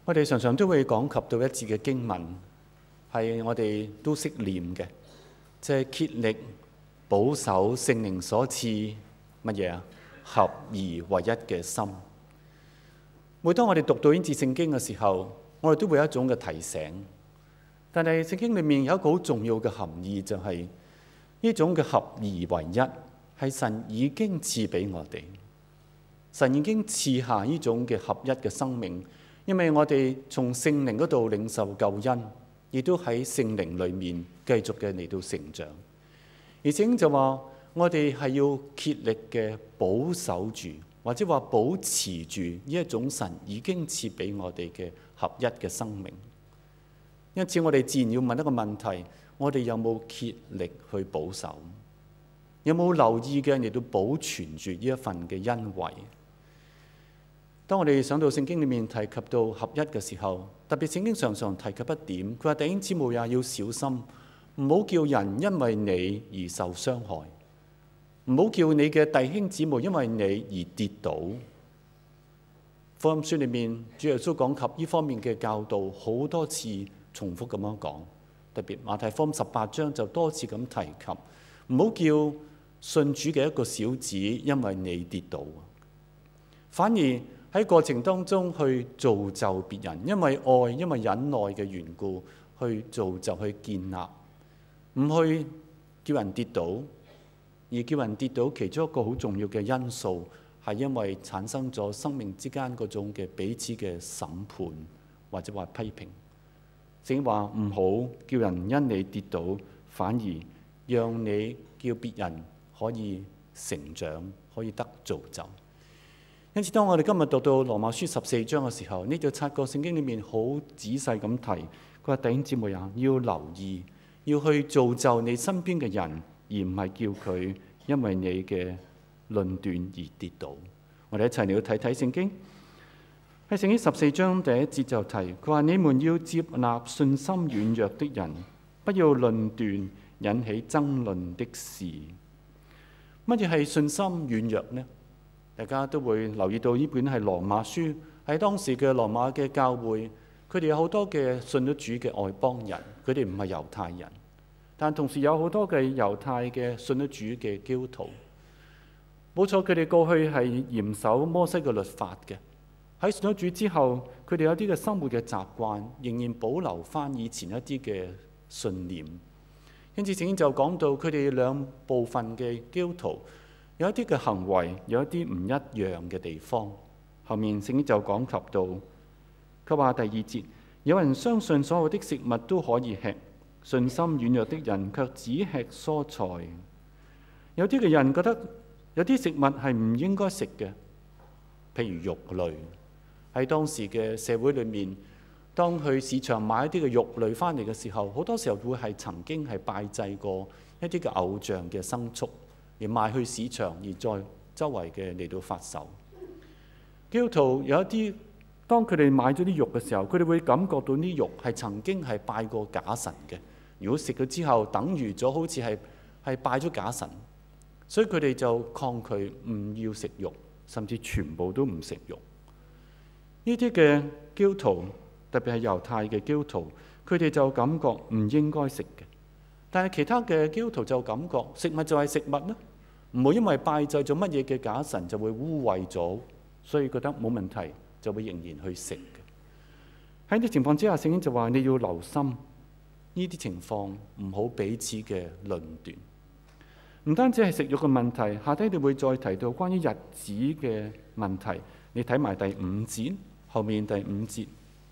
我哋常常都會講及到一節嘅經文，係我哋都識念嘅，即係竭力保守聖靈所賜乜嘢啊？合而為一嘅心。每當我哋讀到呢節聖經嘅時候，我哋都會有一種嘅提醒。但係聖經裏面有一個好重要嘅含義，就係呢種嘅合而為一，係神已經賜俾我哋。神已經賜下呢種嘅合一嘅生命，因為我哋從聖靈嗰度領受救恩，亦都喺聖靈裏面繼續嘅嚟到成長。而且就話我哋係要竭力嘅保守住，或者話保持住呢一種神已經賜俾我哋嘅合一嘅生命。因此我哋自然要問一個問題：我哋有冇竭力去保守？有冇留意嘅嚟到保存住呢一份嘅恩惠？當我哋想到聖經裏面提及到合一嘅時候，特別聖經常常提及一點，佢話弟兄姊妹也要小心，唔好叫人因為你而受傷害，唔好叫你嘅弟兄姊妹因為你而跌倒。福音書裏面主耶穌講及呢方面嘅教導好多次，重複咁樣講，特別馬太福音18章就多次咁提及，唔好叫信主嘅一個小子因為你跌倒，反而喺過程當中去造就別人，因為愛、因為忍耐嘅緣故，去造就、去建立，唔去叫人跌倒，而叫人跌倒其中一個好重要嘅因素，係因為產生咗生命之間嗰種嘅彼此嘅審判或者話批評。聖經話唔好叫人因你跌倒，反而讓你叫別人可以成長，可以得造就。因此，當我哋今日讀到羅馬書14章嘅時候，呢就察覺聖經裏面好仔細咁提，佢話弟兄姊妹啊，要留意，要去造就你身邊嘅人，而唔係叫佢因為你嘅論斷而跌倒。我哋一齊嚟到睇睇聖經。喺聖經14章第1節就提，佢話你們要接納信心軟弱的人，不要論斷引起爭論的事。乜嘢係信心軟弱呢？大家都會留意到呢本係羅馬書，喺當時嘅羅馬嘅教會，佢哋有好多嘅信咗主嘅外邦人，佢哋唔係猶太人，但同時有好多嘅猶太嘅信咗主嘅基督徒。冇錯，佢哋過去係嚴守摩西嘅律法嘅。喺信咗主之後，佢哋有啲嘅生活嘅習慣，仍然保留翻以前一啲嘅信念。因此聖經就講到佢哋兩部分嘅基督徒，有一啲嘅行為，有一啲唔一樣嘅地方。後面聖經就講及到，佢話第2節，有人相信所有的食物都可以吃，信心軟弱的人卻只吃蔬菜。有啲嘅人覺得有啲食物係唔應該食嘅，譬如肉類。喺當時嘅社會裏面，當去市場買一啲嘅肉類翻嚟嘅時候，好多時候會係曾經係拜祭過一啲嘅偶像嘅牲畜，而賣去市場，而在周圍嘅嚟到發售。基督徒有一啲，當佢哋買咗啲肉嘅時候，佢哋會感覺到啲肉係曾經係拜過假神嘅。如果食咗之後，等於咗好似係拜咗假神，所以佢哋就抗拒唔要食肉，甚至全部都唔食肉。呢啲嘅基督徒，特別係猶太嘅基督徒，佢哋就感覺唔應該食嘅。但係其他嘅基督徒就感覺食物就係食物啦，唔會因為拜祭咗乜嘢嘅假神就會污穢咗，所以覺得冇問題，就會仍然去食嘅。喺呢啲情況之下，聖經就話你要留心呢啲情況，唔好彼此嘅論斷。唔單止係食肉嘅問題，下低你會再提到關於日子嘅問題。你睇埋第5節。後面第5節，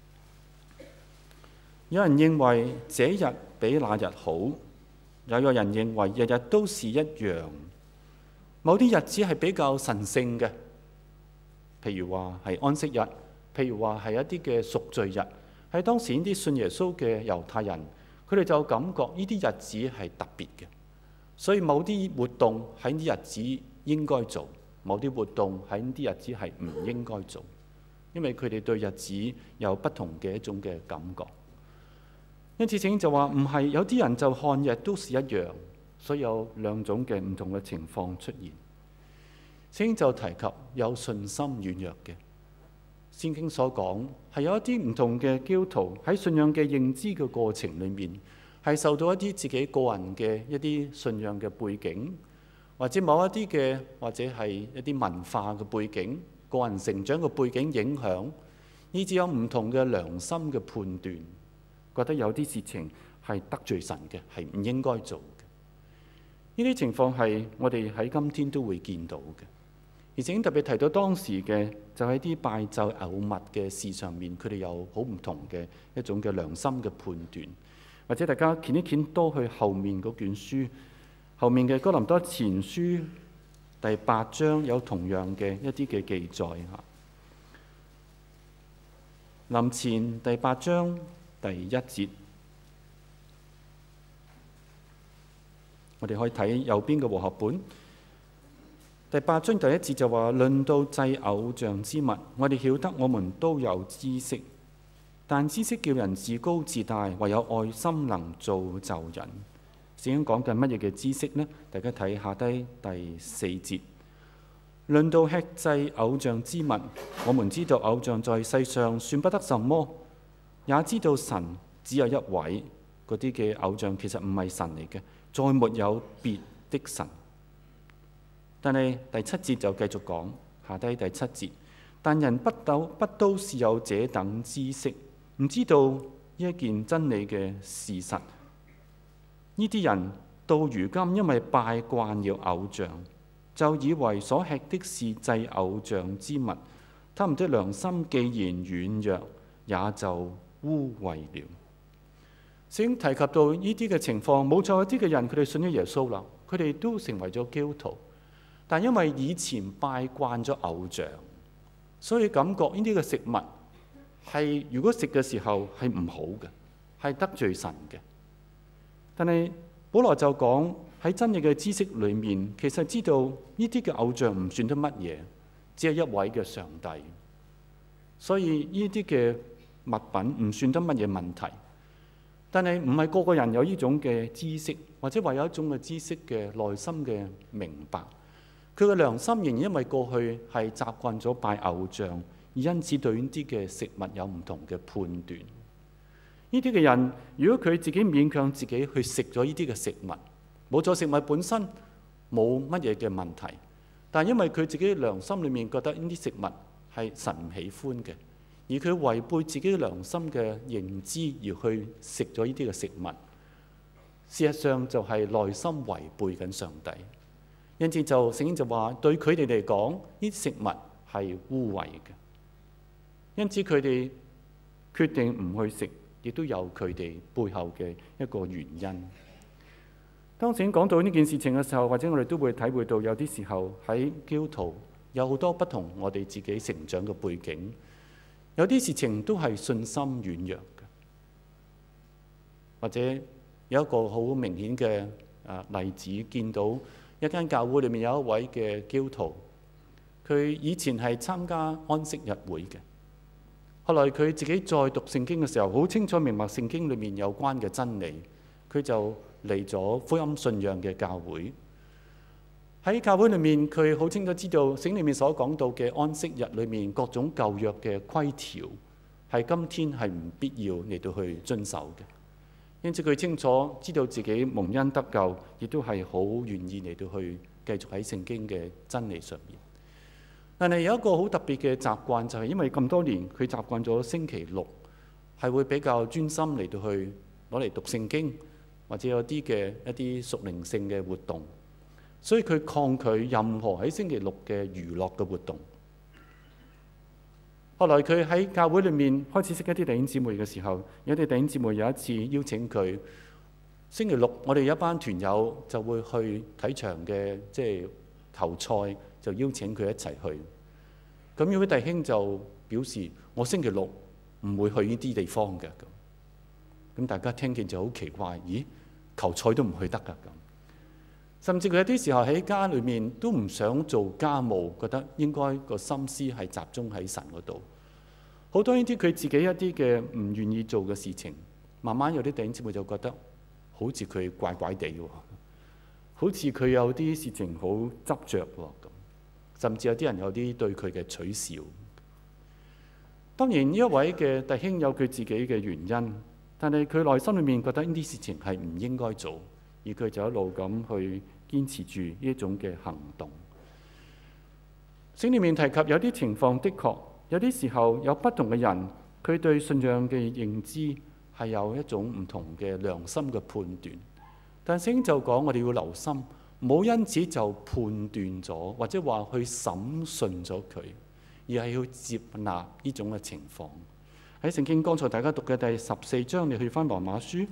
有人認為這日比那日好，又有人認為日日都是一樣。某啲日子係比較神聖嘅，譬如話係安息日，譬如話係一啲嘅贖罪日。喺當時呢啲信耶穌嘅猶太人，佢哋就感覺呢啲日子係特別嘅，所以某啲活動喺呢啲日子應該做，某啲活動喺呢啲日子係唔應該做。因為佢哋對日子有不同嘅一種嘅感覺，因此聖經就話唔係，有啲人就看日都是一樣，所以有兩種嘅唔同嘅情況出現。聖經就提及有信心軟弱嘅， 聖經所講，係有一啲唔同嘅基督徒喺信仰嘅認知嘅過程裏面，係受到一啲自己個人嘅一啲信仰嘅背景，或者某一啲嘅，或者係一啲文化嘅背景、個人成長嘅背景影響，以至有唔同嘅良心嘅判斷，覺得有啲事情係得罪神嘅，係唔應該做嘅。呢啲情況係我哋喺今天都會見到嘅。而且特別提到當時嘅，就喺啲拜祭偶物嘅事上面，佢哋有好唔同嘅一種嘅良心嘅判斷。或者大家見一見多去後面嗰卷書，後面嘅哥林多前書第8章有同樣嘅一啲嘅記載嚇。林前第8章第1節，我哋可以睇右邊嘅和合本。第8章第1節就話：論到祭偶像之物，我哋曉得我們都有知識，但知識叫人自高自大，唯有愛心能造就人。聖經講緊乜嘢嘅知識呢？大家睇下低第4節。論到吃祭偶像之物，我們知道偶像在世上算不得什麼，也知道神只有一位。嗰啲嘅偶像其實唔係神嚟嘅，再沒有別的神。但係第7節就繼續講，下低第7節，但人不都是有這等知識，唔知道呢一件真理嘅事實。呢啲人到如今因為拜慣了偶像，就以為所吃的是祭偶像之物，他們的良心既然軟弱，也就污穢了。先提及到呢啲嘅情況，冇錯，一啲嘅人佢哋信咗耶穌啦，佢哋都成為咗基督徒。但因為以前拜慣咗偶像，所以感覺呢啲嘅食物係如果食嘅時候係唔好嘅，係得罪神嘅。但係保羅就講喺真理嘅知識裏面，其實知道呢啲嘅偶像唔算得乜嘢，只係一位嘅上帝。所以呢啲嘅物品唔算得乜嘢問題。但係唔係個個人有呢種嘅知識，或者話有一種嘅知識嘅內心嘅明白。佢嘅良心仍然因為過去係習慣咗拜偶像，而因此對呢啲嘅食物有唔同嘅判斷。呢啲嘅人，如果佢自己勉強自己去食咗呢啲嘅食物，冇錯，食物本身冇乜嘢嘅問題，但係因為佢自己良心裏面覺得呢啲食物係神唔喜歡嘅，而佢違背自己良心嘅認知而去食咗呢啲嘅食物，事實上就係內心違背緊上帝。因此就聖經就話，對佢哋嚟講，呢啲食物係污穢嘅。因此佢哋決定唔去食，亦都有佢哋背後嘅一個原因。當聖經講到呢件事情嘅時候，或者我哋都會體會到有啲時候喺基督徒有好多不同我哋自己成長嘅背景，有啲事情都係信心軟弱嘅，或者有一個好明顯嘅例子，見到一間教會裏面有一位嘅基督徒，佢以前係參加安息日會嘅，後來佢自己再讀聖經嘅時候，好清楚明白聖經裏面有關嘅真理，佢就嚟咗福音信仰嘅教會。喺教會裏面，佢好清楚知道聖經裏面所講到嘅安息日裏面各種舊約嘅規條，係今天係唔必要嚟到去遵守嘅。因此佢清楚知道自己蒙恩得救，亦都係好願意嚟到去繼續喺聖經嘅真理上面。但係有一個好特別嘅習慣，就係因為咁多年佢習慣咗星期六係會比較專心嚟到去攞嚟讀聖經，或者有啲嘅一啲屬靈性嘅活動，所以佢抗拒任何喺星期六嘅娛樂嘅活動。後來佢喺教會裏面開始識一啲弟兄姊妹嘅時候，有啲弟兄姊妹有一次邀請佢，星期六我哋有一班團友就會去睇場嘅即係球賽，就邀請佢一齊去。咁有位弟兄就表示：我星期六唔會去呢啲地方嘅。咁大家聽見就好奇怪，咦？球賽都唔去得㗎咁。甚至佢有啲時候喺家裏面都唔想做家務，覺得應該個心思係集中喺神嗰度。好多呢啲佢自己一啲嘅唔願意做嘅事情，慢慢有啲弟兄姊妹就覺得好似佢怪怪地喎，好似佢有啲事情好執着喎咁。甚至有啲人有啲對佢嘅取笑。 當然呢一位嘅弟兄有佢自己嘅原因，但係佢內心裏面覺得呢啲事情係唔應該做，而佢就一路咁去堅持住呢一種嘅行動。聖經裡面提及有啲情況，的確有啲時候有不同嘅人，佢對信仰嘅認知係有一種唔同嘅良心嘅判斷。但聖經就講我哋要留心，唔好因此就判斷咗，或者話去審訊咗佢，而係要接納呢種嘅情況。喺聖經剛才大家讀嘅第14章，你去翻羅馬書，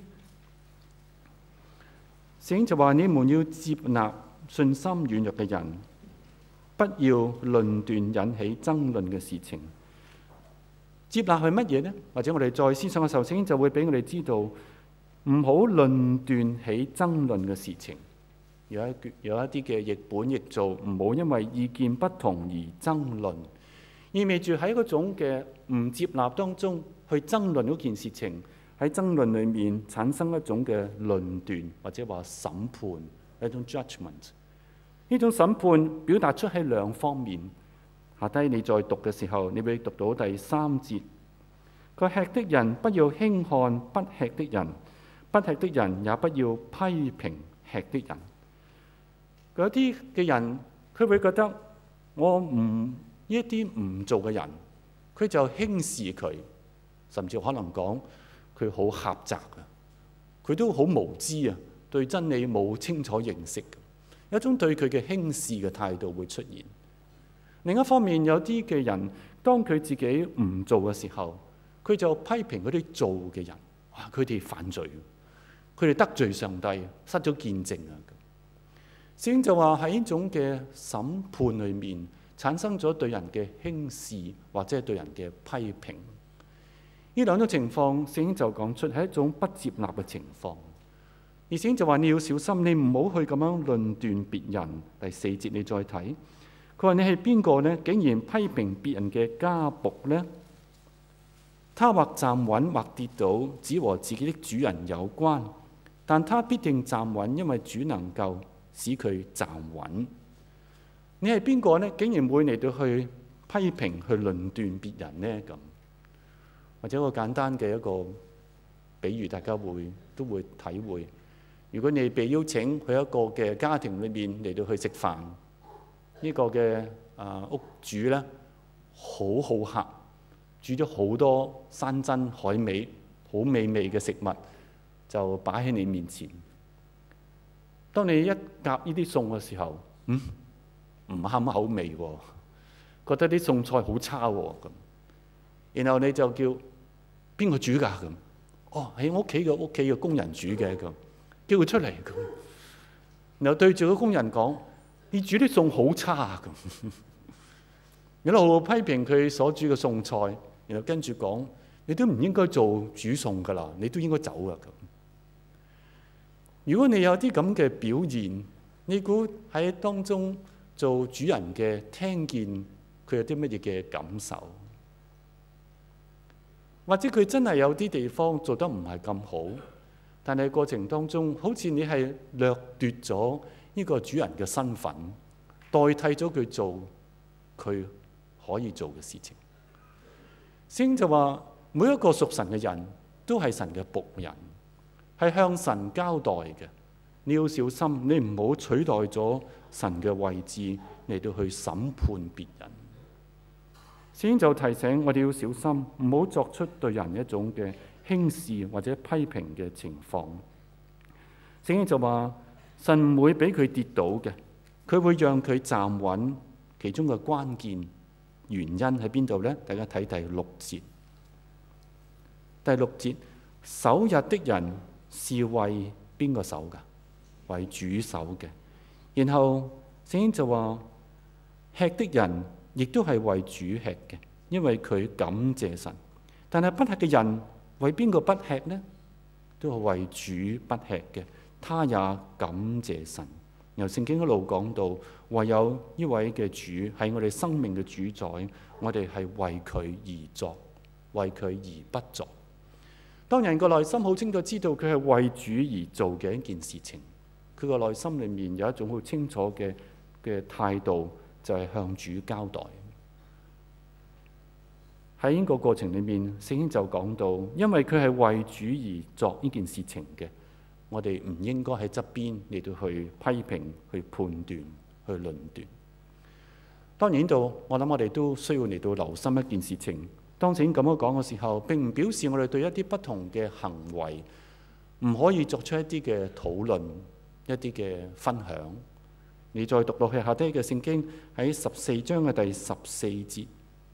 聖經就話你們要接納信心軟弱嘅人，不要論斷引起爭論嘅事情。接納係乜嘢呢？或者我哋再思想嘅時候，聖經就會俾我哋知道，唔好論斷起爭論嘅事情。有一啲嘅譯本譯做唔好因為意見不同而爭論，意味住喺嗰種嘅唔接納當中去爭論嗰件事情，喺爭論裡面產生一種嘅論斷或者話審判，一種 judgment。呢種審判表達出喺兩方面。下低你再讀嘅時候，你會讀到第3節，佢吃的人不要輕看不吃的人，不吃的人也不要批評吃的人。有啲嘅人，佢會覺得我唔呢啲唔做嘅人，佢就輕視佢，甚至可能講佢好狹窄啊，佢都好無知啊，對真理冇清楚認識，有一種對佢嘅輕視嘅態度會出現。另一方面，有啲嘅人，當佢自己唔做嘅時候，佢就批評嗰啲做嘅人，哇！佢哋犯罪，佢哋得罪上帝，失咗見證啊！聖經就話喺呢種嘅審判裏面，產生咗對人嘅輕視或者係對人嘅批評。呢兩種情況，聖經就講出係一種不接納嘅情況。而聖經就話你要小心，你唔好去咁樣論斷別人。第4節你再睇。佢話：你係邊個呢？竟然批評別人嘅家僕呢？他或站穩或跌倒，只和自己的主人有關。但他必定站穩，因為主能夠使佢站穩。你係邊個呢？竟然會嚟到去批評、去論斷別人呢？咁或者一個簡單嘅一個比喻，大家都會體會。如果你被邀請去一個嘅家庭裏面嚟到去食飯。呢個嘅屋主呢，好好客，煮咗好多山珍海味，好美味嘅食物就擺喺你面前。當你一夾呢啲餸嘅時候，唔啱口味喎，覺得啲餸菜好差喎咁。然後你就叫邊個煮㗎咁？哦，喺我屋企嘅工人煮嘅咁，叫佢出嚟咁。然後對住個工人講。你煮啲餸好差啊！咁，一路批評佢所煮嘅餸菜，然後跟住講：你都唔應該做煮餸噶啦，你都應該走啊！咁，如果你有啲咁嘅表現，你估喺當中做主人嘅聽見佢有啲乜嘢嘅感受？或者佢真係有啲地方做得唔係咁好，但係過程當中好似你係掠奪咗呢個主人嘅身份，代替咗佢做佢可以做嘅事情。聖經就話每一個屬神嘅人都係神嘅僕人，係向神交代嘅。你要小心，你唔好取代咗神嘅位置嚟到去審判別人。聖經就提醒我哋要小心，唔好作出對人一種嘅輕視或者批評嘅情況。聖經就話神唔會俾佢跌倒嘅，佢會讓佢站穩。其中嘅關鍵原因喺邊度呢？大家睇第6節。第6節，守日的人是為邊個守㗎？為主守嘅。然後聖經就話吃的人亦都係為主吃嘅，因為佢感謝神。但係不吃嘅人為邊個不吃呢？都係為主不吃嘅。他也感謝神。由聖經一路講到，唯有呢位嘅主係我哋生命嘅主宰，我哋係為佢而作，為佢而不作。當人個內心好清楚知道佢係為主而做嘅一件事情，佢個內心裏面有一種好清楚嘅態度，就係向主交代。 喺呢個過程裏面，聖經就講到，因為佢係為主而作呢件事情嘅，我哋唔應該喺側邊嚟到去批評、去判斷、去論斷。當然呢度，我諗我哋都需要嚟到留心一件事情。當聖經咁樣講嘅時候，並唔表示我哋對一啲不同嘅行為唔可以作出一啲嘅討論、一啲嘅分享。你再讀落去下低嘅聖經喺14章嘅第14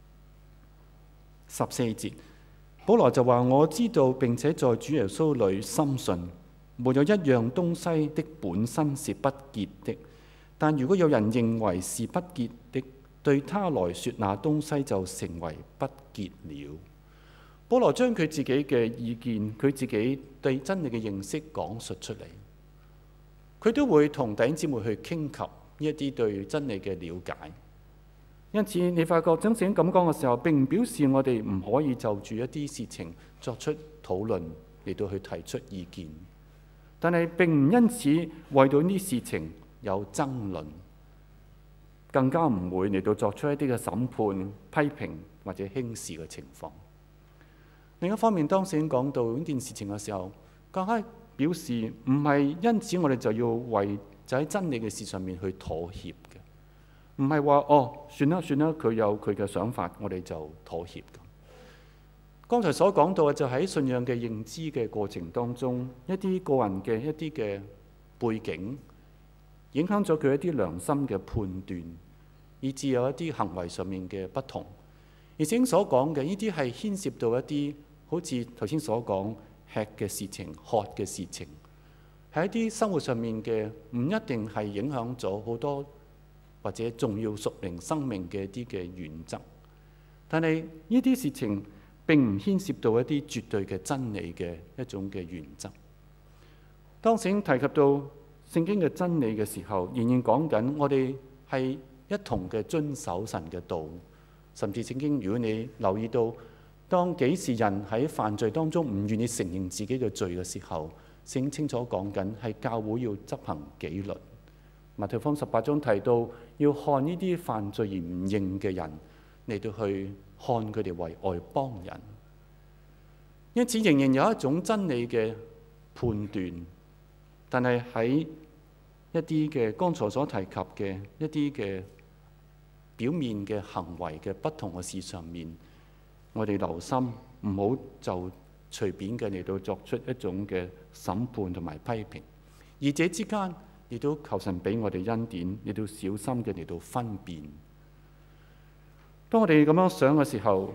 節，保羅就話：我知道並且在主耶穌裏深信，沒有一樣東西的本身是不潔的，但如果有人認為是不潔的，對他來說，那東西就成為不潔了。保羅將佢自己嘅意見，佢自己對真理嘅認識講述出嚟，佢都會同弟兄姊妹去傾及一啲對真理嘅了解。因此，你發覺真正咁講嘅時候，並唔表示我哋唔可以就住一啲事情作出討論，嚟到去提出意見。但係並唔因此為到呢啲事情有爭論，更加唔會嚟到作出一啲嘅審判、批評或者輕視嘅情況。另一方面，當聖經講到呢件事情嘅時候，更加表示唔係因此我哋就要為就喺真理嘅事上面去妥協嘅，唔係話算啦，佢有佢嘅想法，我哋就妥協。剛才所講到嘅就喺信仰嘅認知嘅過程當中，一啲個人嘅一啲嘅背景，影響咗佢一啲良心嘅判斷，以致有一啲行為上面嘅不同。而聖經所講嘅呢啲係牽涉到一啲好似頭先所講吃嘅事情、喝嘅事情，係一啲生活上面嘅，唔一定係影響咗好多或者重要屬靈生命嘅一啲嘅原則。但係呢啲事情並唔牽涉到一啲絕對嘅真理嘅一種嘅原則。當聖經提及到聖經嘅真理嘅時候，仍然講緊我哋係一同嘅遵守神嘅道。甚至聖經，如果你留意到，當幾時人喺犯罪當中唔願意承認自己嘅罪嘅時候，聖經清楚講緊係教會要執行紀律。馬太福音18章提到，要看呢啲犯罪而唔認嘅人嚟到去看佢哋為外邦人。因此仍然有一種真理嘅判斷，但係喺一啲嘅剛才所提及嘅一啲嘅表面嘅行為嘅不同嘅事上面，我哋留心唔好就隨便嘅嚟到作出一種嘅審判同埋批評。二者之間亦都求神俾我哋恩典，亦都小心嘅嚟到分辨。當我哋咁樣想嘅時候，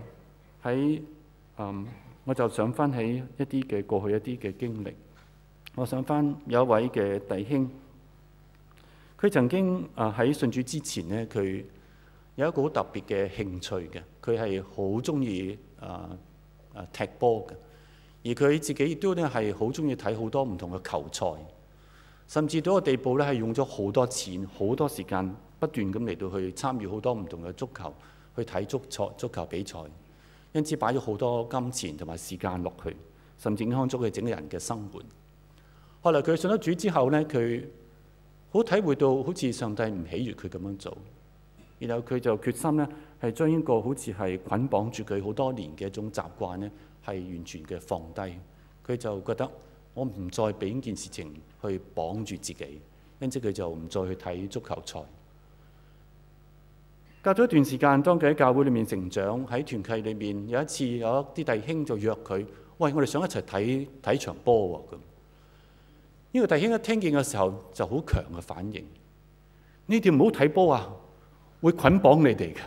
我就想翻起一啲嘅過去一啲嘅經歷。我想翻有一位嘅弟兄，佢曾經喺信主之前呢，佢有一個好特別嘅興趣嘅，佢係好中意踢波嘅，而佢自己亦都咧係好中意睇好多唔同嘅球賽，甚至到個地步咧係用咗好多錢、好多時間，不斷咁嚟到去參與好多唔同嘅足球，去睇足球比賽，因此擺咗好多金錢同埋時間落去，甚至影響咗佢整個人嘅生活。後來佢信咗主之後呢，佢好體會到好似上帝唔喜悅佢咁樣做。然後佢就決心呢，係將呢個好似係捆綁住佢好多年嘅一種習慣呢，係完全嘅放低。佢就覺得我唔再俾呢件事情去綁住自己，因此佢就唔再去睇足球賽。隔咗一段時間，當佢喺教會裏面成長，喺團契裏面有一次有一啲弟兄就約佢：喂，我哋想一齊睇場波喎咁。呢個弟兄一聽見嘅時候就好強嘅反應：你哋唔好睇波啊！會捆綁你哋嘅，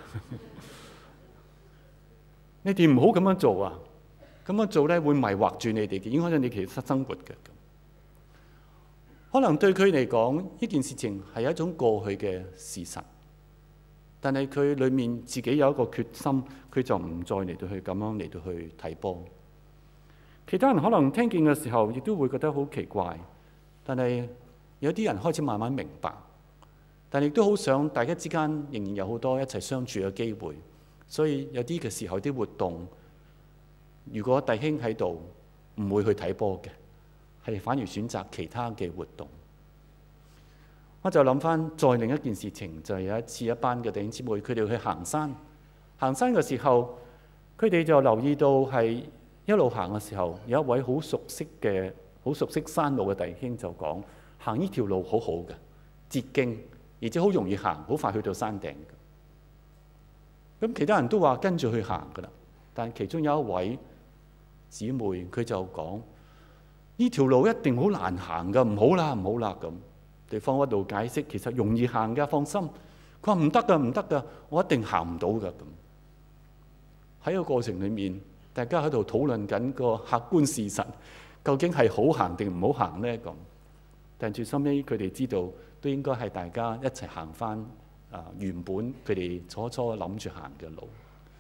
你哋唔好咁樣做啊！咁樣做咧會迷惑住你哋嘅，影響咗你其實生活嘅。可能對佢嚟講，呢件事情係一種過去嘅事實，但係佢裏面自己有一個決心，佢就唔再嚟到去咁樣嚟到去睇波。其他人可能聽見嘅時候，亦都會覺得好奇怪，但係有啲人開始慢慢明白。但亦都好想大家之間仍然有好多一齊相處嘅機會，所以有啲嘅時候啲活動，如果弟兄喺度唔會去睇波嘅，係反而選擇其他嘅活動。我就諗翻再另一件事情，就係有一次一班嘅弟兄姊妹，佢哋去行山。行山嘅時候， 佢哋就留意到係一路行嘅時候，有一位好熟悉山路嘅弟兄就講：行呢條路好好嘅，捷徑，而且好容易行，好快去到山頂嘅。咁其他人都話跟住去行㗎啦，但其中有一位姊妹佢就講：呢條路一定好難行㗎，唔好啦，唔好啦咁。對方一路解釋，其實容易行㗎，放心。佢話唔得㗎，唔得㗎，我一定行唔到㗎咁。喺個過程裡面，大家喺度討論緊個客觀事實，究竟係好行定唔好行呢？咁，但最收尾佢哋知道，都應該係大家一齊行返原本佢哋初初諗住行嘅路。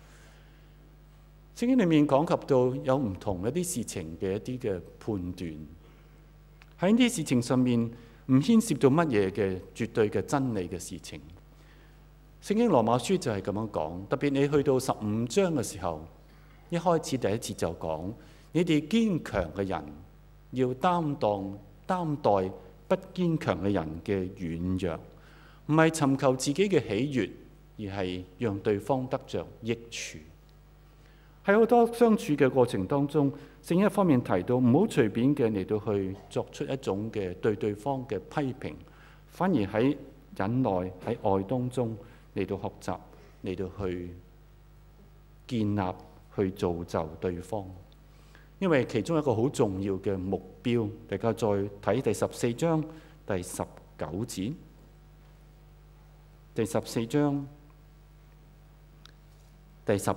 聖經裡面講及到有唔同一啲事情嘅一啲嘅判斷，喺呢啲事情上面唔牽涉到乜嘢嘅絕對嘅真理嘅事情。聖經羅馬書就係咁樣講，特別你去到15章嘅時候，一開始第一節就講：你哋堅強嘅人要擔待不堅強嘅人嘅軟弱，唔係尋求自己嘅喜悅，而係讓對方得着益處。喺好多相處嘅過程當中，聖經一方面提到唔好隨便嘅嚟到去作出一種嘅對對方嘅批評，反而喺忍耐喺愛當中嚟到學習，嚟到去建立、去造就對方。因為其中一個好重要嘅目標，大家再睇第14章第19節。第14章第19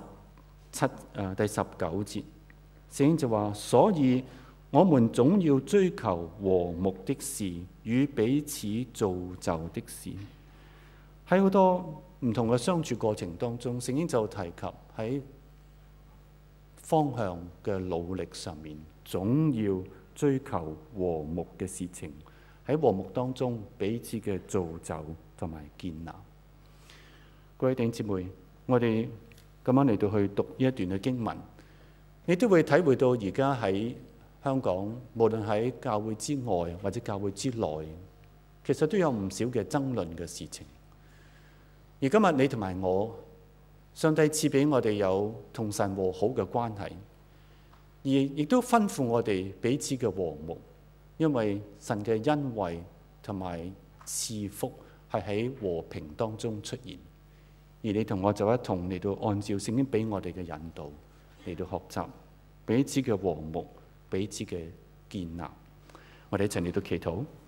節，聖經就話：所以我們總要追求和睦的事，與彼此造就的事。喺好多唔同嘅相處過程當中，聖經就提及喺方向嘅努力上面，總要追求和睦嘅事情。喺和睦當中，彼此嘅造就同埋建立。各位弟兄姊妹，我哋咁樣嚟到去讀呢一段嘅經文，你都會體會到而家喺香港，無論喺教會之外或者教會之內，其實都有唔少嘅爭論嘅事情。而今日你同埋我，上帝賜俾我哋有同神和好嘅關係，而亦都吩咐我哋彼此嘅和睦，因為神嘅恩惠同埋賜福係喺和平當中出現。而你同我就一同嚟到按照聖經俾我哋嘅引導嚟到學習彼此嘅和睦，彼此嘅建立。我哋一齊嚟到祈禱。